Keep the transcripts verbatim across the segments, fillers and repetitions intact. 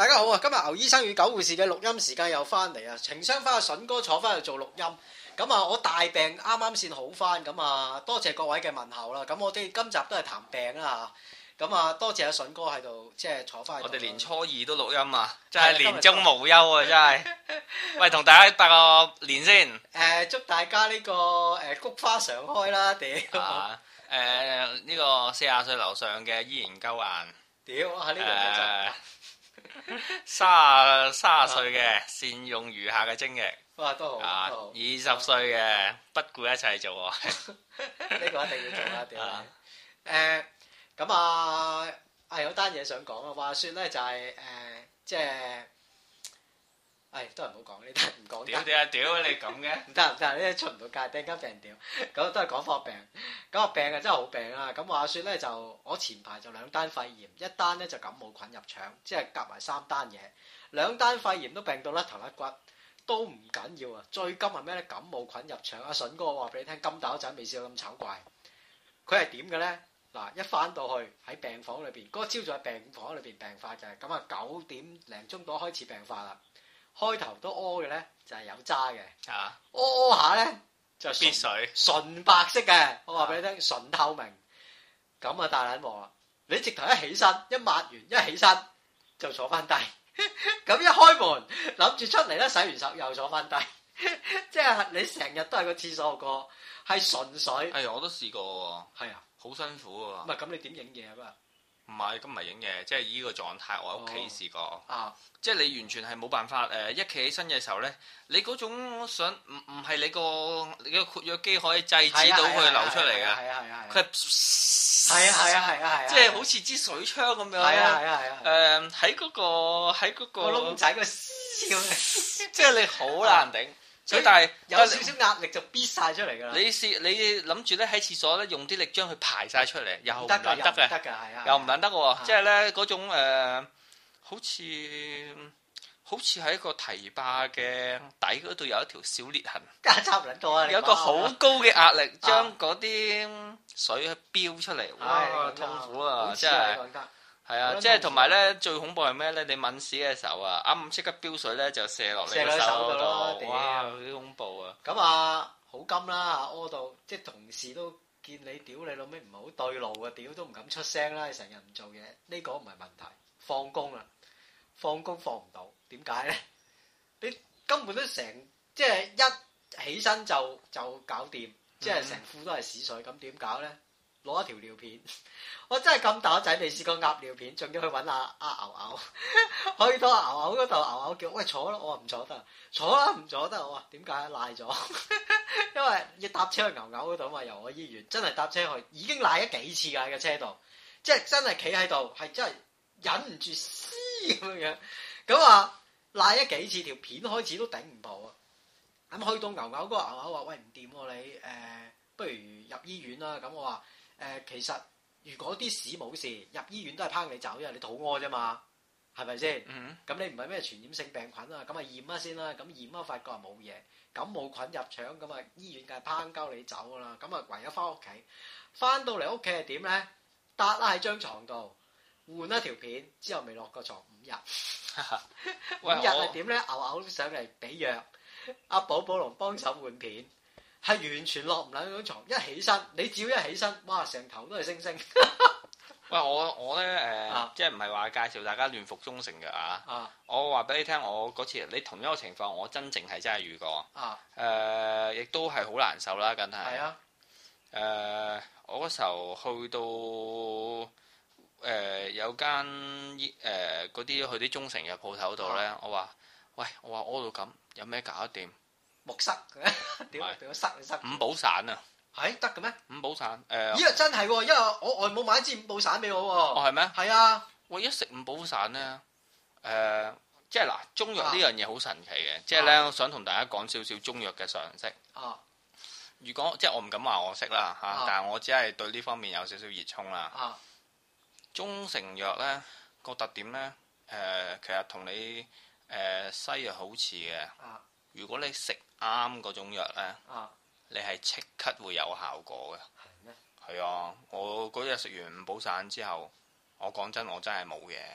大家好啊！今日牛醫生與狗護士嘅錄音時間又翻嚟啊！情商翻阿筍哥坐翻去做錄音，咁啊我大病啱啱先好翻，咁啊多謝各位嘅問候啦。咁我哋今集都係談病啦嚇，咁啊多謝阿筍哥喺度即係坐翻去。我哋年初二都錄音啊，真係年終無憂啊！真係。喂，同大家拜個年先。 誒，祝大家呢個誒菊花常開啦！屌。啊誒呢個四十歲樓上嘅依然鳩硬。 屌啊！呢個就。 三三十歲嘅善用餘下嘅精力， 哇都好， 啊都好。 二十歲嘅不顧一切做愛， 呢個一定要做啦，屌你！誒咁啊，係有單嘢想講啊。話説咧就係誒，即係，誒都係唔好講呢單，唔講。 屌屌屌你咁嘅， 唔得唔得，呢啲出唔到街，突然間俾人屌。咁都係講科病，咁個病啊真係好病啊！咁話説咧就我前排就兩單肺炎，一單咧就感冒菌入腸，即係夾埋三單嘢，兩單肺炎都病到甩頭甩骨，都唔緊要啊！最金係咩咧？感冒菌入腸，阿筍哥我話俾你聽，金打仔未試過咁醜怪。佢係點嘅咧？嗱，一翻到去喺病房裏邊，嗰個朝早喺病房裏邊病發嘅，咁啊九點零鐘到開始病發啦。開頭都屙嘅咧就係有渣嘅，屙屙下咧就必水純白色嘅，我話俾你聽純透明，咁啊大撚鑊啦！你直頭一起身一抹完一起身就坐翻低，咁一開門諗住出嚟咧洗完手又坐翻低，即係你成日都係個廁所個，係純水。 係我都試過喎， 係啊， 好辛苦喎。 唔係咁你點影嘢啊？ 唔係，咁唔係影嘢，即係依個狀態，我喺屋企試過。 啊， 即係你完全係冇辦法誒，一企起身嘅時候咧，你嗰種想唔唔係你個你個括約肌可以制止到佢流出嚟嘅。係啊係啊係。佢係係啊係啊係啊係。 即係好似支水槍咁樣。 係啊係啊係啊。誒喺嗰個喺嗰個。個窿仔個笑， 即係你好難頂。所以但係有少少壓力就逼晒出嚟㗎啦。你試你諗住咧喺廁所咧用啲力將佢排晒出嚟，又唔得嘅， 得㗎係啊， 又唔撚得喎。即係咧嗰種誒，好似好似喺個堤壩嘅底嗰度有一條小裂痕， 差唔多啊！ 有一個好高嘅壓力將嗰啲水飆出嚟，哇！痛苦啊，真係。係啊，即係同埋咧，最恐怖係咩咧？你抿屎嘅時候啊，啱啱即刻飆水咧，就射落你個手度，哇！好恐怖啊！ 咁啊，好金啦，屙到即係同事都見你屌你老味唔係好對路啊，屌都唔敢出聲啦，你成日唔做嘢，呢個唔係問題。放工啦，放工放唔到，點解咧？你根本都成即係一起身就就搞掂，即係成褲都係屎水，咁點搞咧？攞一條尿片，我真係咁大個仔未試過鴨尿片，仲要去揾阿阿牛牛，去到牛牛嗰度，牛牛叫喂坐啦，我話唔坐得，坐啦唔坐得，我話點解賴咗？因為要搭車去牛牛嗰度嘛，由我醫院真係搭車去，已經賴咗幾次㗎喺個車度，即係真係企喺度，係真係忍唔住嘶咁樣，咁啊賴咗幾次，條片開始都頂唔到啊！咁去到牛牛嗰個牛牛話喂唔掂喎你誒、呃，不如入醫院啦，咁我話。誒、呃、其實如果啲屎冇事，入醫院都係拏你走，因為你肚屙啫嘛，係咪先？咁、嗯、你唔係咩傳染性病菌啊？咁啊驗啊先啦，咁驗啊發覺係冇嘢，感冒菌入腸，咁啊醫院梗係拏鳩你走噶啦，咁啊唯有翻屋企，翻到嚟屋企係點咧？搭啦喺張床度換一條片，之後未落過床五日，五日係點咧？牛牛上嚟俾藥，阿寶寶龍幫手換片。係完全落唔撚張床，一起身，你只要一起身，哇，成頭都係星星。 喂，我我咧誒，呃啊、即係唔係話介紹大家亂服中成嘅啊？啊我話俾你聽，我嗰次你同一個情況，我真正係真係遇過。啊。誒、呃，亦都係好難受啦，梗係。係啊。誒、呃，我嗰時候去到誒、呃、有間誒嗰啲去啲中成嘅鋪頭度咧，啊、我話：喂，我話屙到咁，有咩搞得掂？ 木塞嘅，屌俾我塞你塞。 五寶散啊， 係得嘅咩？ 五寶散，誒， 咦真係喎，因為我外母買一支五寶散俾我喎。哦係咩？ 係啊， 我一食五寶散咧，誒、呃，即係嗱，中藥呢樣嘢好神奇嘅，啊、即係咧，我想同大家講少少中藥嘅常識。啊，如果即係我唔敢話我識啦嚇，啊、但係我只係對呢方面有少少熱衷啦。啊，中成藥咧個特點咧，誒、呃，其實同你誒、呃、西藥好似嘅。啊，如果你食啱嗰種藥咧，啊、你係即刻會有效果嘅。係咩嗎？係啊！我嗰日食完五寶散之後，我講真，我真係冇嘢。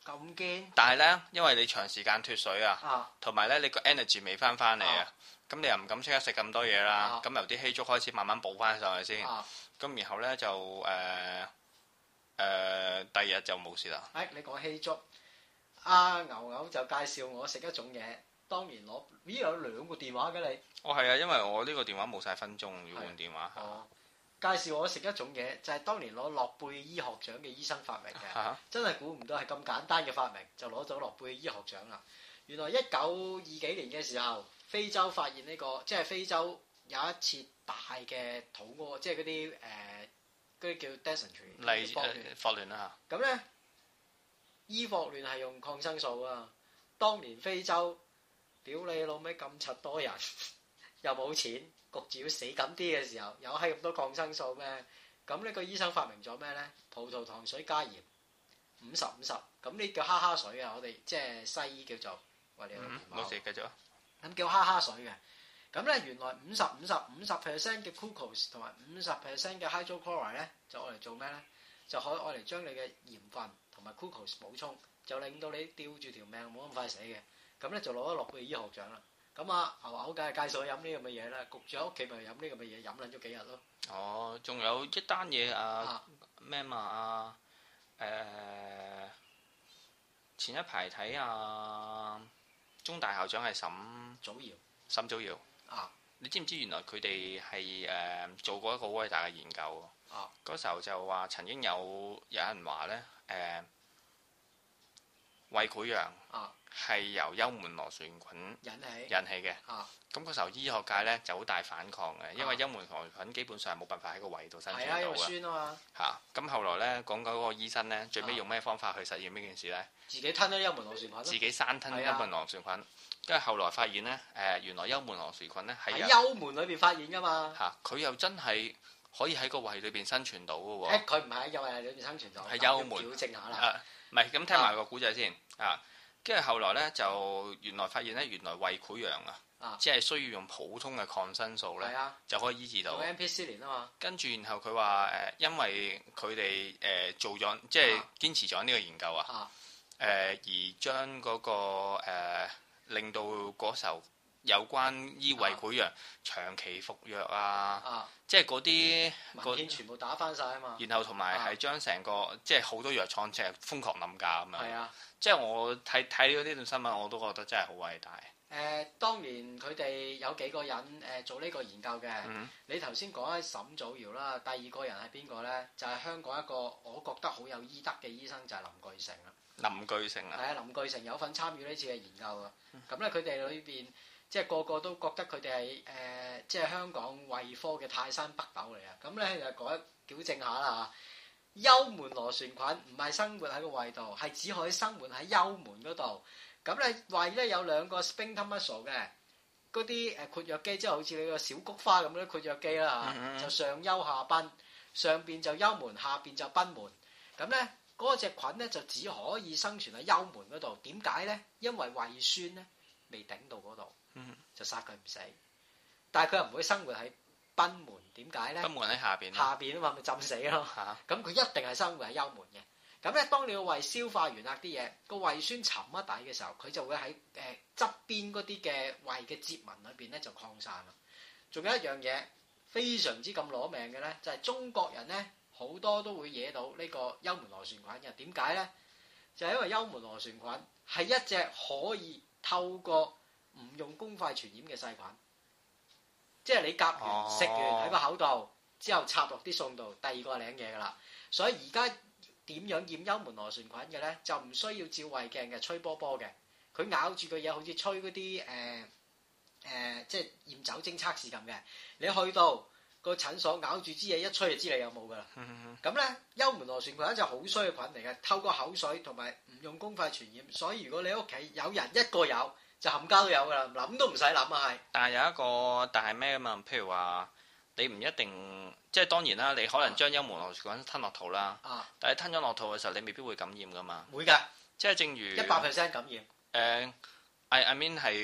咁堅？ 但係咧，因為你長時間脫水啊，同埋咧你個 energy 未翻翻嚟啊，咁你又唔敢即刻食咁多嘢啦，咁、啊、由啲稀粥開始慢慢補翻上去先，咁、啊、然後咧就誒誒、呃呃、第二日就冇事啦。 誒、哎，你講稀粥，阿、啊、牛牛就介紹我食一種嘢，當年攞咦有兩個電話嘅你？ 哦係啊，因為我呢個電話冇晒分鐘要換電話。 哦，介紹我食一種嘢，就係、是、當年攞諾貝爾醫學獎嘅醫生發明嘅，啊、真係估唔到係咁簡單嘅發明就攞咗諾貝爾醫學獎啦。原來一九二幾年嘅時候，非洲發現呢、這個，即係非洲有一次大嘅肚屙，即係嗰啲誒嗰啲叫 dysentery， 例誒霍亂啦嚇。咁咧，醫霍亂係用抗生素啊。當年非洲屌你老味咁柒多人，又冇錢，焗住要死緊啲嘅時候，有閪咁多抗生素咩？咁呢個醫生發明咗咩咧？葡萄糖水加鹽，五十五十，咁呢叫哈哈水啊！我哋即係西醫叫做，喂你冇事繼續。 咁叫哈哈水嘅，咁咧原來五十五十五十 percent 嘅 glucose 同埋五十 percent 嘅 hydrochloride 咧，就愛嚟做咩咧？就可以愛嚟將你嘅鹽分同埋 glucose 補充，就令到你吊住條命冇咁快死嘅。咁咧就攞咗諾貝爾醫學獎啦。咁啊牛牛梗係介紹我飲呢咁嘅嘢啦，焗住喺屋企咪飲呢咁嘅嘢，飲撚咗幾日咯。哦， 仲有一單嘢啊咩嘛啊誒、呃、前一排睇啊中大校長係沈祖堯， 沈祖堯啊，你知唔知原來佢哋係誒做過一個好偉大嘅研究啊？嗰時候就話曾經有有人話咧誒胃潰瘍啊。係由幽門螺旋菌引起引起嘅，咁嗰時候醫學界咧就好大反抗嘅，因為幽門螺旋菌基本上係冇辦法喺個胃度生存到嘅。係啊，因為酸啊嘛。嚇，咁後來咧講緊嗰個醫生咧，最尾用咩方法去實驗呢件事咧？自己吞咗幽門螺旋菌。自己生吞幽門螺旋菌，跟住後來發現咧，誒原來幽門螺旋菌咧係喺幽門裏邊發現㗎嘛。嚇，佢又真係可以喺個胃裏邊生存到嘅喎。誒，佢唔係喺幽胃裏邊生存到，係幽門。矯正下啦。誒，唔係，咁聽埋個古仔先啊。跟住後來咧，就原來發現咧，原來胃潰瘍啊，即係需要用普通嘅抗生素咧，啊、就可以醫治到。用 ampicillin 啊嘛。跟住然後佢話誒，因為佢哋誒做咗，即係堅持咗呢個研究啊，誒、呃、而將嗰、那個、呃、令到嗰時候有關醫胃潰瘍長期服藥啊，啊即係嗰啲文件全部打翻晒啊嘛。然後同埋係將成個、啊、即係好多藥廠即係瘋狂冧價咁樣。係啊。即係我睇睇咗呢段新聞，我都覺得真係好偉大。誒、呃，當年佢哋有幾個人誒、呃、做呢個研究嘅。嗯、你頭先講緊沈祖堯啦，第二個人係邊個咧？就係、是、香港一個我覺得好有醫德嘅醫生，就係、是、林巨成啦。林巨成啊？係啊，林巨成有份參與呢次嘅研究啊。咁咧、嗯，佢哋裏邊即係個個都覺得佢哋係誒，即係香港胃科嘅泰山北斗嚟啊。咁咧就講一矯正下啦嚇。幽門螺旋菌唔係生活喺個胃度，係只可以生活喺幽門嗰度。咁咧胃咧有兩個 sphincter muscle 嘅，嗰啲誒括約肌，即係好似你個小菊花咁樣括約肌啦嚇，嗯嗯就上幽下賓，上邊就幽門，下邊就賓門。咁咧嗰隻菌咧就只可以生存喺幽門嗰度。點解咧？因為胃酸咧未頂到嗰度，就殺佢唔死。但係佢又唔會生活喺賓門，點解咧？賓門喺下邊，下邊啊嘛，咪浸死咯。咁佢一定係生活喺幽門嘅。咁咧，當你個胃消化完啦啲嘢，個胃酸沉一底嘅時候，佢就會喺誒側邊嗰啲嘅胃嘅折紋裏邊咧就擴散啦。仲有一樣嘢非常之咁攞命嘅咧，就係中國人咧好多都會惹到呢個幽門螺旋菌嘅。點解咧？就係因為幽門螺旋菌係一隻可以透過唔用公筷傳染嘅細菌。即係你夾完食完喺個口度之後插落啲餸度，第二個係領嘢㗎啦。所以而家點樣驗幽門螺旋菌嘅咧，就唔需要照胃鏡嘅，吹波波嘅。佢咬住個嘢好似吹嗰啲誒誒，即係驗酒精測試咁嘅。你去到個診所咬住支嘢一吹就知你有冇㗎啦。咁咧幽門螺旋菌就好衰嘅菌嚟嘅，透過口水同埋唔用公筷傳染。所以如果你屋企有人一個有，就冚家都有噶啦，諗都唔使諗啊，係。但係有一個，但係咩啊嘛？譬如話，你唔一定，即係當然啦，你可能將幽門螺旋菌吞落肚啦。啊。但係吞咗落肚嘅時候，你未必會感染噶嘛。會㗎的。即係正如一百 percent 感染。誒、呃、I I mean 係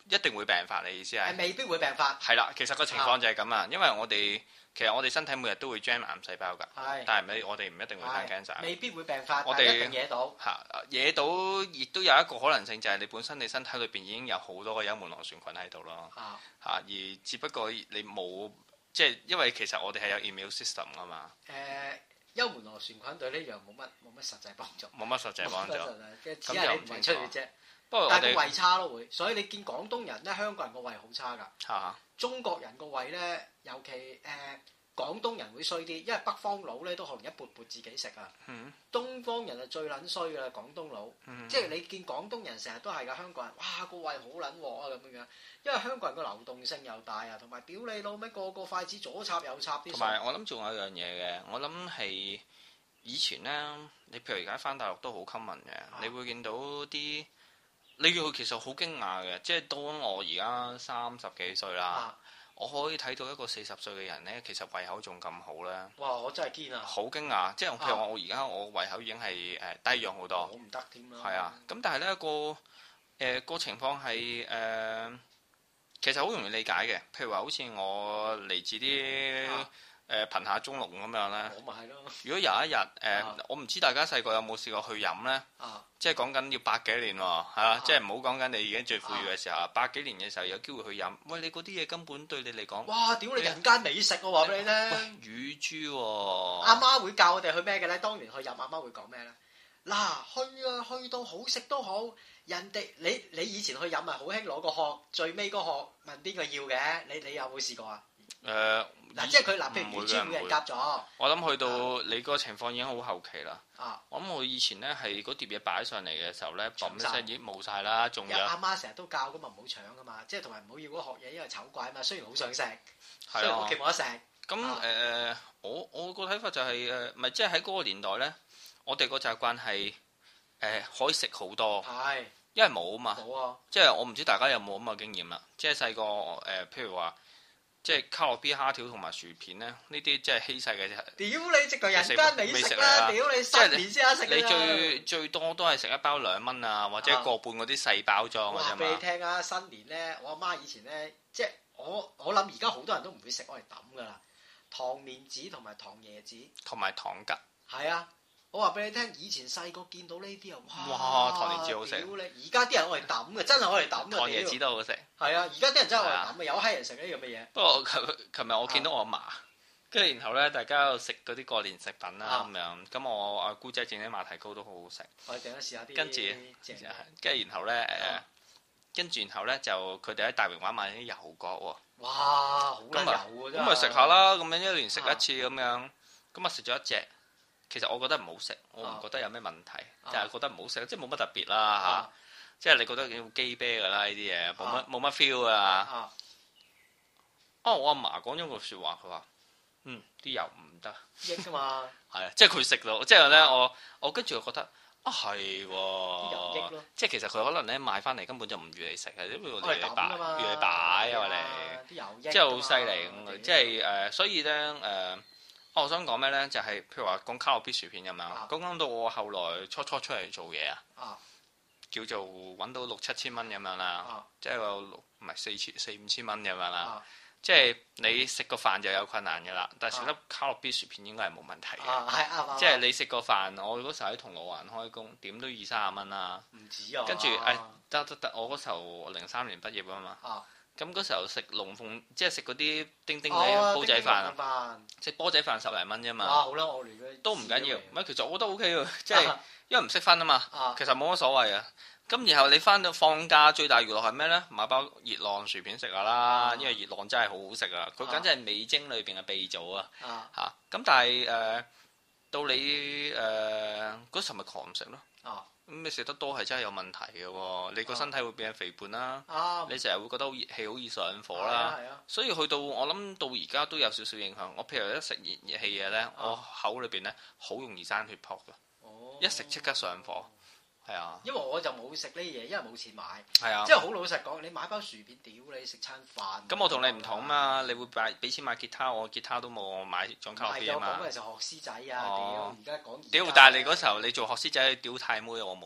一定會病發，你意思係？ 未必會病發。 係啦，其實個情況就係咁啊，因為我哋其實我哋身體每日都會 jam 癌細胞㗎，但係唔我哋唔一定會生 cancer。未必會病發，我哋一定惹到。嚇，惹到亦都有一個可能性，就係你本身你身體裏邊已經有好多個幽門螺旋菌喺度咯。嚇嚇，而只不過你冇即係因為其實我哋係有 immune system 㗎嘛。誒，幽門螺旋菌對呢樣冇乜冇乜實際幫助。冇乜實際幫助。只係你唔係出血啫。不過但係個胃差咯會，所以你見廣東人咧，香港人個胃好差㗎。嚇！中國人個胃咧，尤其誒、呃、廣東人會衰啲，因為北方佬咧都可能一缽缽自己食啊。嗯。東方人係最撚衰㗎啦，廣東佬。嗯。即係你見廣東人成日都係㗎，香港人哇個胃好撚鑊啊咁樣樣，因為香港人個流動性又大啊，同埋屌你老味個個筷子左插右插啲。同埋我諗仲有一樣嘢嘅，我諗係以前咧，你譬如而家返大陸都好 common 嘅，啊、你會見到啲。你要其實好驚訝嘅，即係當我而家三十幾歲啦，啊、我可以睇到一個四十歲嘅人咧，其實胃口仲咁好咧。哇！我真係堅啊！好驚訝，即係譬如話我而家我胃口已經係誒低氧好多。好唔得添啦。係啊，咁但係咧個誒、呃、個情況係誒、呃，其實好容易理解嘅。譬如話好似我嚟自啲。啊誒貧下中農咁樣咧，我咪係咯。如果有一日誒，呃、我唔知大家細個有冇試過去飲咧，啊、即係講緊要百幾年喎，係啦，啊、即係唔好講緊你而家最富裕嘅時候，啊、百幾年嘅時候有機會去飲。喂，你嗰啲嘢根本對你嚟講，哇！屌你人間美食我話俾你聽，乳豬喎。阿媽會教我哋去咩嘅咧？當年去飲，阿媽會講咩咧？嗱，去啊，去到好食都好，人哋你你以前去飲啊，好興攞個殼，最尾個殼問邊個要嘅？你你有冇試過啊？誒嗱，即係佢嗱，譬如乳豬俾人夾咗，我諗去到你嗰個情況已經好後期啦。啊，我諗我以前咧係嗰碟嘢擺上嚟嘅時候咧，嘣一聲已經冇晒啦，仲有阿媽成日都教噶嘛，唔好搶噶嘛，即係同埋唔好要嗰殼嘢，因為醜怪啊嘛。雖然好想食，雖然屋企冇得食。咁誒，我我個睇法就係誒，唔係即係喺嗰個年代咧，我哋個習慣係誒可以食好多，係因為冇啊嘛，冇啊，即係我唔知大家有冇咁嘅經驗啦。即係細個誒，譬如話。即係卡樂 B 蝦條同埋薯片咧，呢啲即係稀世嘅啫。屌你直頭人間美食啦！屌你新年先得食啦！你最最多都係食一包兩蚊啊，或者個半嗰啲細包裝嘅啫嘛。話俾你聽啊，新年咧，我阿媽以前咧，即係我我諗而家好多人都唔會食，我嚟抌噶啦。糖蓮子同埋糖椰子，同埋糖桔。係啊。我話俾你聽，以前細個見到呢啲啊，哇！糖蓮子好食。屌你！而家啲人攞嚟抌嘅，真係攞嚟抌嘅。糖椰子都好食。係啊，而家啲人真係攞嚟抌嘅，有閪人食呢樣嘅嘢。不過琴琴日我見到我阿嫲，跟住然後咧，大家喺度食嗰啲過年食品啦咁樣。咁我阿姑姐整啲馬蹄糕都好好食。我哋陣間試下啲。跟住，跟住然後咧誒，跟住然後咧就佢哋喺大榮華買啲油角喎。哇！好撚油啊！咁咪食下啦，咁樣一年食一次咁樣，咁啊食咗一隻。其實我覺得唔好食，我唔覺得有咩問題，就係、啊、覺得唔好食，即係冇乜特別啦嚇。啊、即係你覺得叫雞啤㗎啦呢啲嘢，冇乜冇乜 feel 啊。哦，我阿嫲講咗句説話，佢話：嗯，啲油唔得，益㗎嘛。係啊，即係佢食到，即係咧我我跟住我覺得啊係喎，即係其實佢可能咧買翻嚟根本就唔預你食嘅，因為我哋嚟擺預你擺啊嘛你，即係好犀利咁，即係誒，所以咧誒。呃哦、我想講咩咧？就係、是、譬如話講卡樂 B 薯片咁樣，講講、啊、到我後來初初出嚟做嘢啊，叫做揾到六七千蚊咁樣啦，啊、即係個六唔係四千四五千蚊咁樣啦。啊、即係你食個飯就有困難嘅啦，但係食粒卡樂 B 薯片應該係冇問題嘅。啊、即係你食個飯，我嗰時候喺銅鑼灣開工，點都二三十蚊啦。唔止啊！跟住誒得得得，我嗰時候零三年畢業啊嘛。啊咁嗰時候食龍鳳，即係食嗰啲叮叮嘅煲仔飯啊！食煲仔飯十零蚊啫嘛。哇！好啦，我連嗰都唔緊要。唔係，其實我覺得 O K 喎，即係因為唔識分啊嘛。其實冇乜所謂啊。咁然後你翻到放假最大娛樂係咩咧？買包熱浪薯片食下啦，因為熱浪真係好好食啊！佢簡直係味精裏邊嘅鼻祖啊！嚇咁，但係誒到你誒嗰時咪狂食咯。咁你食得多係真係有問題嘅喎，你個身體會變肥胖啦，啊、你成日會覺得好熱氣，好易上火啦，啊啊、所以去到我諗到而家都有少少影響。我譬如一食熱熱氣嘢咧，啊、我口裏邊咧好容易生血泡嘅，哦、一食即刻上火。係啊，因為我就冇食呢嘢，因為冇錢買。係啊，即係好老實講，你買包薯片，屌你食餐飯。咁我同你唔同嘛，你會買俾錢買吉他，我吉他都冇，我買張卡樂 B啊嘛。唔係，我講嘅就學師仔啊，屌！而家講。屌！但係你嗰時候你做學師仔，屌太妹，我冇喎。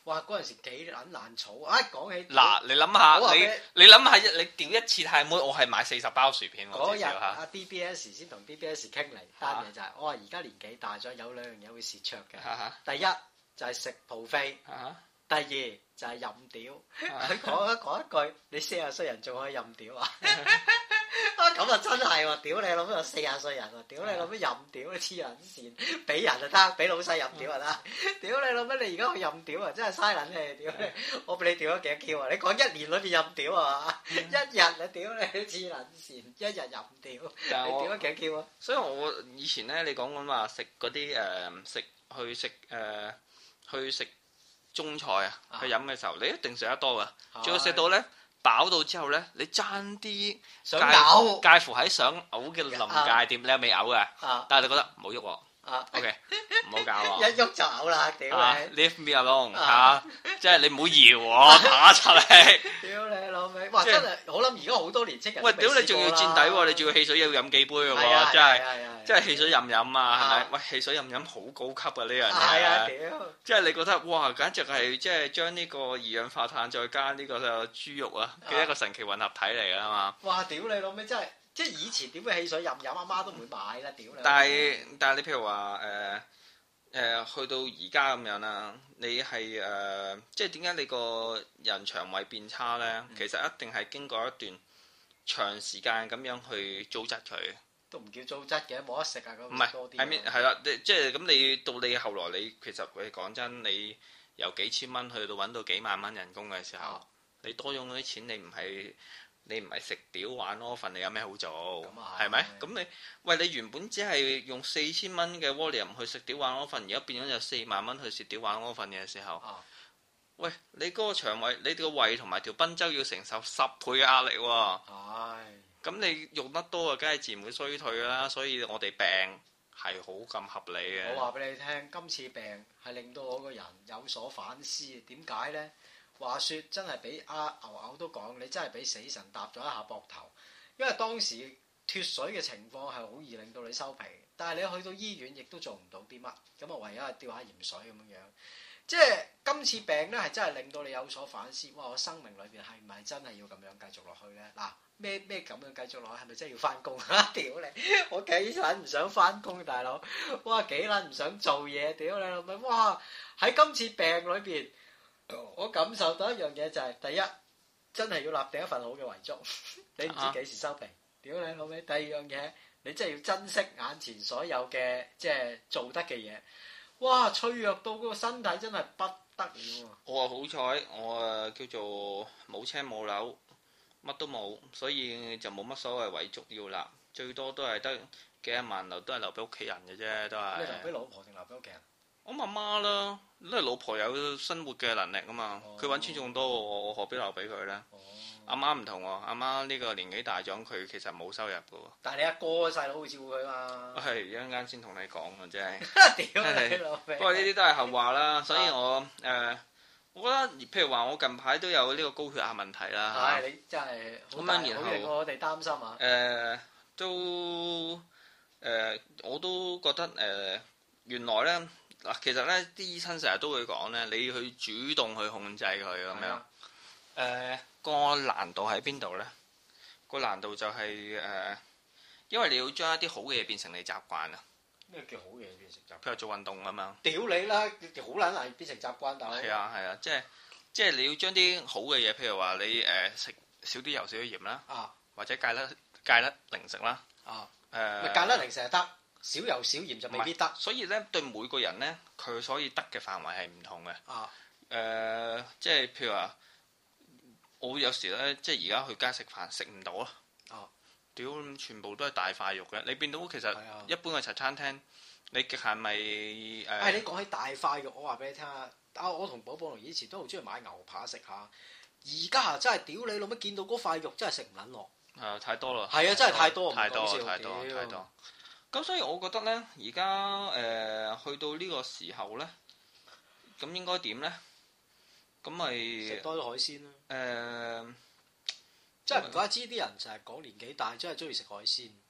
哇！嗰陣時幾撚難儲啊！講起嗱，你諗下，你你諗下一你屌一次太妹，我係買四十包薯片喎。 嗰日阿 D B S 先同 D B S 傾嚟單嘢就係，我話而家年紀大咗，有兩樣嘢會蝕灼嘅。第一就係食 buffet，第二就係任屌。佢講一講一句，你四十歲人仲可以任屌啊？啊咁啊真係喎！屌你老母有四十歲人喎！屌你老母任屌你黐撚線，俾人就得，俾老細任屌就得。屌你老母你而家去任屌啊！真係嘥撚氣！屌你，我俾你屌咗幾多 Q 啊？你講一年裏邊任屌啊嘛？一日啊屌你黐撚線，一日任屌，你屌咗幾多 Q 啊？ 所以我以前咧，你講緊話食嗰啲誒食去食誒去食中菜啊，去飲嘅時候，你一定食得多噶，仲要食到咧。飽到之後咧，你爭啲想嘔， 介乎喺想嘔嘅臨界點，你係未嘔嘅，但係你覺得唔好喐喎，OK，唔好搞喎， 一喐就嘔啦，屌你 ，Leave me alone 嚇，即係你唔好搖我，打出嚟， 屌你老味，哇真係，我諗而家好多年青人， 喂，屌你仲要墊底喎，你仲要汽水要飲幾杯嘅喎，真係。即係汽水任飲啊，係咪？喂，汽水任飲好高級啊！呢樣嘢， 係啊，屌！ 即係你覺得哇，簡直係即係將呢個二氧化碳再加呢個豬肉啊嘅一個神奇混合體嚟㗎嘛！ 哇！屌你老味真係，即係以前點會汽水任飲，阿媽都唔會買啦！屌你！ 但係但係你譬如話誒誒去到而家咁樣啦，你係誒即係點解你個人腸胃變差咧？其實一定係經過一段長時間咁樣去糟質佢。 都唔叫糟質嘅，冇得食啊！咁唔係多啲。 係咪係啦？即係咁，你到你後來你其實你講真，你由幾千蚊去到揾到幾萬蚊人工嘅時候，啊、你多用嗰啲錢，你唔係你唔係食屌玩屙瞓，你有咩好做？係咪？咁你喂你原本只係用四千蚊嘅 volume 去食屌玩屙瞓，而家變咗有四萬蚊去食屌玩屙瞓嘅時候，啊、喂你嗰個腸胃，你個胃同埋條賓周要承受十倍嘅壓力喎。 唉咁你用得多啊，梗係自然會衰退啦，所以我哋病係好咁合理嘅。 我話俾你聽，今次病係令到我個人有所反思。點解呢？話說真係俾阿牛牛都講，你真係俾死神搭咗一下膊頭。因為當時脫水嘅情況係好易令到你收皮，但係你去到醫院亦都做唔到啲乜，咁啊唯有係吊下鹽水咁樣樣。即係今次病咧係真係令到你有所反思。哇！我生命裏邊係唔係真係要咁樣繼續落去咧？嗱。咩咩咁樣繼續落去，係咪真係要翻工啊？屌你！我幾撚唔想翻工，大佬！哇，幾撚唔想做嘢，屌你老味！哇！喺今次病裏邊，我感受到一樣嘢就係、是，第一真係要立定一份好嘅遺囑，你唔知幾時收皮，屌你老味！第二樣嘢，你真係要珍惜眼前所有嘅即係做得嘅嘢。哇！脆弱到個身體真係不得了啊！ 我話好彩，我誒叫做冇車冇樓。乜都冇，所以就冇乜所謂遺囑要立，最多都係得幾廿萬留，都係留俾屋企人嘅啫，都係。 你留俾老婆定留俾屋企人？ 我媽媽啦，都係老婆有生活嘅能力啊嘛，佢揾錢仲多我，我何必留俾佢咧？阿媽唔同喎，阿媽呢個年紀大咗，佢其實冇收入嘅喎。 但係你阿哥細佬好照顧佢嘛？ 係一陣間先同你講啊，真係。 屌你老味！ 不過呢啲都係後話啦，所以我誒。我覺得，譬如話，我近排都有呢個高血壓問題啦。 係、哎，你真係好大，好令我哋擔心啊！誒、 呃，都誒、呃，我都覺得誒、呃，原來咧嗱，其實咧啲醫生成日都會講咧，你去主動去控制佢咁樣。誒、呃，個難度喺邊度咧？個難度就係、是、誒、呃，因為你要將一啲好嘅嘢變成你習慣啊。 咩叫好嘢變成習慣？ 譬如做運動啊嘛。 屌你啦！好撚難變成習慣，但係。係啊係啊，即係即係你要將啲好嘅嘢，譬如話你誒食少啲油少啲鹽啦，啊、或者戒甩戒甩零食啦。啊。誒、呃。 戒甩零食係得，少油少鹽就未必得。 所以咧，對每個人咧，佢所以得嘅範圍係唔同嘅。啊。誒、呃，即係譬如話，我有時咧，即係而家去街食飯食唔到啊。啊。屌，全部都係大塊肉嘅，你變到其實一般嘅茶餐廳，你極限咪誒？ 誒，你講起大塊肉，我話俾你聽啊！啊，我同寶寶龍以前都好中意買牛扒食下，而家啊真係屌你老乜，見到嗰塊肉真係食唔撚落。係啊， 太多啦。 係啊，真係太多， 太多，太多，太多。咁所以我覺得咧，而家誒去到呢個時候咧，咁應該點咧？咁咪食多啲海鮮啦。誒。 誒。 即係唔怪之啲人成日講年紀大，真係中意食海鮮。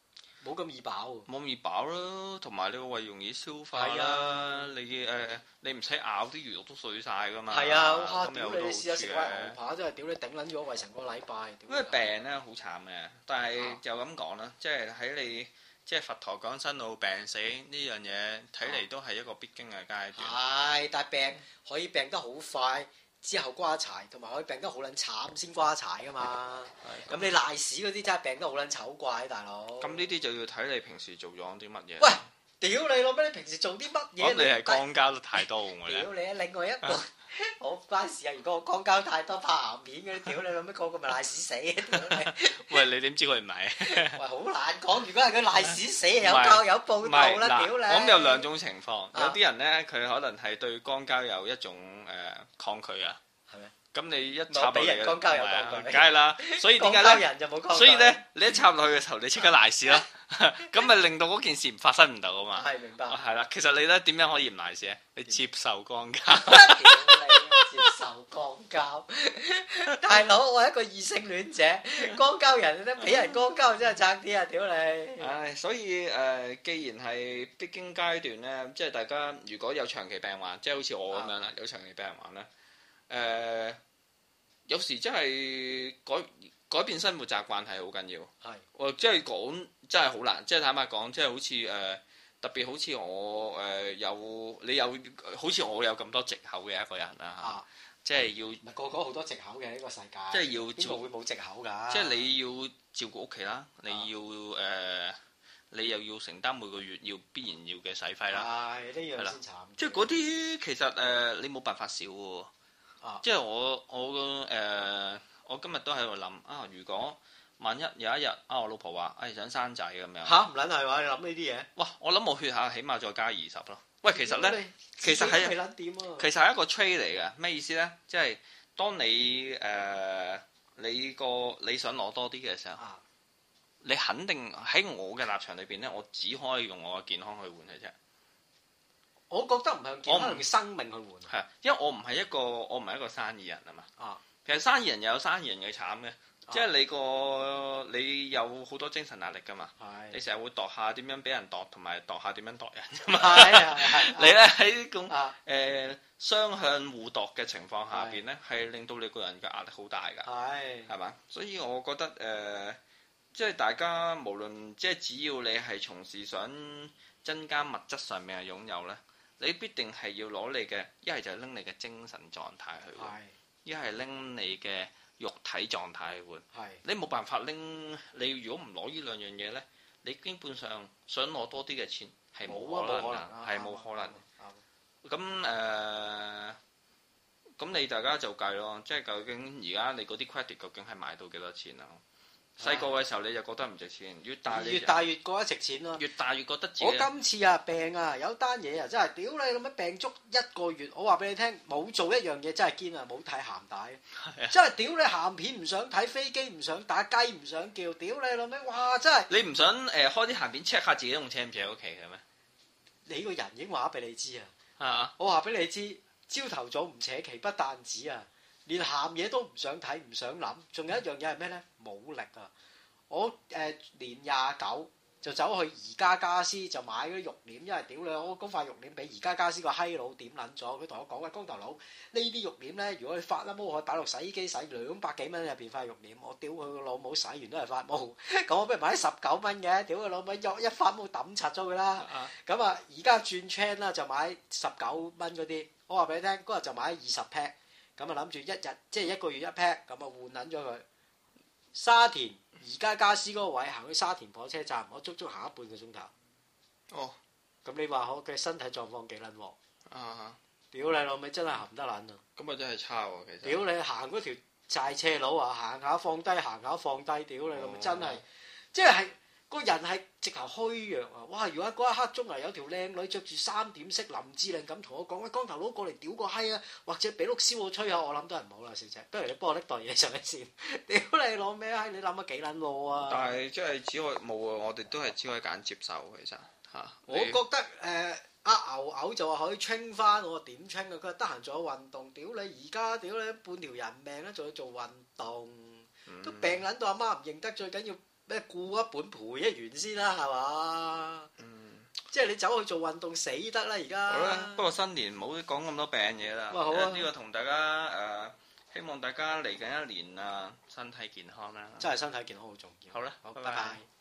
冇咁易飽， 冇咁易飽啦，同埋你個胃容易消化啦。啊、你誒、呃、你唔使咬啲魚肉都碎晒噶嘛。係啊，哇！屌你試下食塊牛扒真係屌你頂撚咗胃成個禮拜。 因為病咧好慘嘅，但係就咁講啦，即係喺你即係佛陀講生老病死呢樣嘢，睇嚟都係一個必經嘅階段。 係，但係病可以病得好快。之後瓜柴，同埋可以病得好撚慘先瓜柴噶嘛。咁你賴屎嗰啲真係病得好撚醜怪，大佬。咁呢啲就要睇你平時做咗啲乜嘢。 喂，屌你老味！你平時做啲乜嘢？ 你係肛交得太多喎。 屌你啊！另外一個好關事啊！如果我肛交太多拍鹹片嗰啲，屌你老味個個咪賴屎死啊！ 喂，你點知佢唔係？ 喂，好難講。如果係佢賴屎死，有交有報道啦，屌你！ 咁有兩種情況，有啲人咧佢可能係對肛交有一種誒抗拒啊。係咩？咁你一插落嚟， 肛交有抗拒， 梗係啦。所以點解咧？所以咧，你一插落去嘅時候，你即刻賴屎咯。咁咪令到嗰件事發生唔到啊嘛。 係明白。 係啦，其實你咧點樣可以唔賴屎咧？你接受肛交。 接受肛交，大佬，我係一個異性戀者，肛交人咧俾人肛交真係爭啲啊！屌你！ 唉，所以誒，既然係必經階段咧，即係大家如果有長期病患，即係好似我咁樣啦，有長期病患咧，誒，有時真係改改變生活習慣係好緊要。係，我即係講真係好難，即係坦白講，即係好似誒。特別好似我誒有你有好似我有咁多藉口嘅一個人啦嚇，啊、即係要唔係個個好多藉口嘅呢個世界， 即係要邊個會冇藉口㗎？ 即係你要照顧屋企啦，你要誒、呃、你又要承擔每個月要必然要嘅使費啦，係呢樣先慘。即係嗰啲其實誒、呃、你冇辦法少喎，啊、即係我我誒、呃、我今日都喺度諗啊，如果萬一有一日啊，我老婆話，誒想生仔咁樣嚇，唔撚係話你諗呢啲嘢？ 哇！我諗我血下起碼再加二十咯。喂，其實咧，其實係其實係一個 trade 嚟嘅。咩意思咧？即係當你誒你個你想攞多啲嘅時候，你肯定喺我嘅立場裏邊咧，我只可以用我嘅健康去換嘅啫。 我覺得唔係用健康，用生命去換。 係，因為我唔係一個我唔係一個生意人啊嘛。啊，其實生意人又有生意人嘅慘嘅。即係你個你有好多精神壓力㗎嘛，的你成日會度下點樣俾人度，同埋度下點樣度人㗎嘛。你咧喺呢種誒雙向互度嘅情況下邊咧，係令到你個人嘅壓力好大㗎。係係嘛？所以我覺得誒、呃，即係大家無論即係只要你係從事想增加物質上面嘅擁有咧，你必定係要攞你嘅一係就係拎你嘅精神狀態去換，一係拎你嘅肉體狀態去換，係你冇辦法拎。你如果唔攞呢兩樣嘢咧，你基本上想攞多啲嘅錢係冇可能㗎，係冇可能。咁誒，咁你大家就計咯，即係究竟而家你嗰啲 credit 究竟係買到幾多錢啊？細個嘅時候你就覺得唔值錢，越大你越大越覺得值錢咯。 越大越覺得自己。 我今次啊病啊有單嘢啊真係屌你咁樣病足一個月，我話俾你聽冇做一樣嘢真係堅啊，冇睇鹹帶，真係屌你鹹片唔想睇，飛機唔想打，雞唔想叫，屌你老味哇真係。你唔想誒、呃、開啲鹹片 check 下自己用車唔車喺屋企嘅咩？你個人已經話俾你知啊，啊我話俾你知，朝頭早唔扯旗不但止啊。連鹹嘢都唔想睇，唔想諗，仲有一樣嘢係咩咧？冇力啊！我誒、呃、年廿九就走去宜家家私就買嗰啲肉簾，因為屌你，我嗰塊肉簾俾宜家家私個閪佬點撚咗，佢同我講喂，光頭佬呢啲肉簾咧，如果你發啦毛，可以擺落洗衣機洗兩百幾蚊入邊塊肉簾，我屌佢個老母洗完都係發毛，咁我不如買十九蚊嘅，屌佢老母一發毛抌柒咗佢啦，咁啊而家轉 chain 啦就買十九蚊嗰啲，我話俾你聽嗰日就買二十 pack。咁啊諗住一日即係一個月一 pack，咁啊換撚咗佢。沙田宜家家私嗰個位行去沙田火車站，我足足行咗半個鐘頭。哦，咁你話我嘅身體狀況幾撚喎？啊！屌你老味真係行得撚啊！咁啊真係差喎，其實。屌你行嗰條債斜路啊，行下放低，行下放低，屌你老味真係，即係。個人係直頭虛弱啊！哇！如果嗰一刻中啊有條靚女着住三點式林志玲咁同我講，喂，光頭佬過嚟屌個閪啊！或者俾碌燒我吹下，我諗都係唔好啦，小姐。不如你幫我拎袋嘢上嚟先。屌你攞咩閪？你諗咗幾撚路啊？但係即係只可以冇啊！我哋都係只可以揀接受其實嚇。我覺得誒阿牛牛就話可以清翻，我話點清啊？佢話得閒做下運動。屌你而家屌你半條人命啦，仲要做運動，都病撚到阿媽唔認得，最緊要。 咩顧一本賠一元先啦，係嘛？ 嗯， 即係你走去做運動死得啦而家。 好啦，不過新年唔好講咁多病嘢啦。 好啊， 呢個同大家誒、呃，希望大家嚟緊一年啊，身體健康啦。 真係身體健康好重要。 好啦， 好， 拜拜。 拜拜。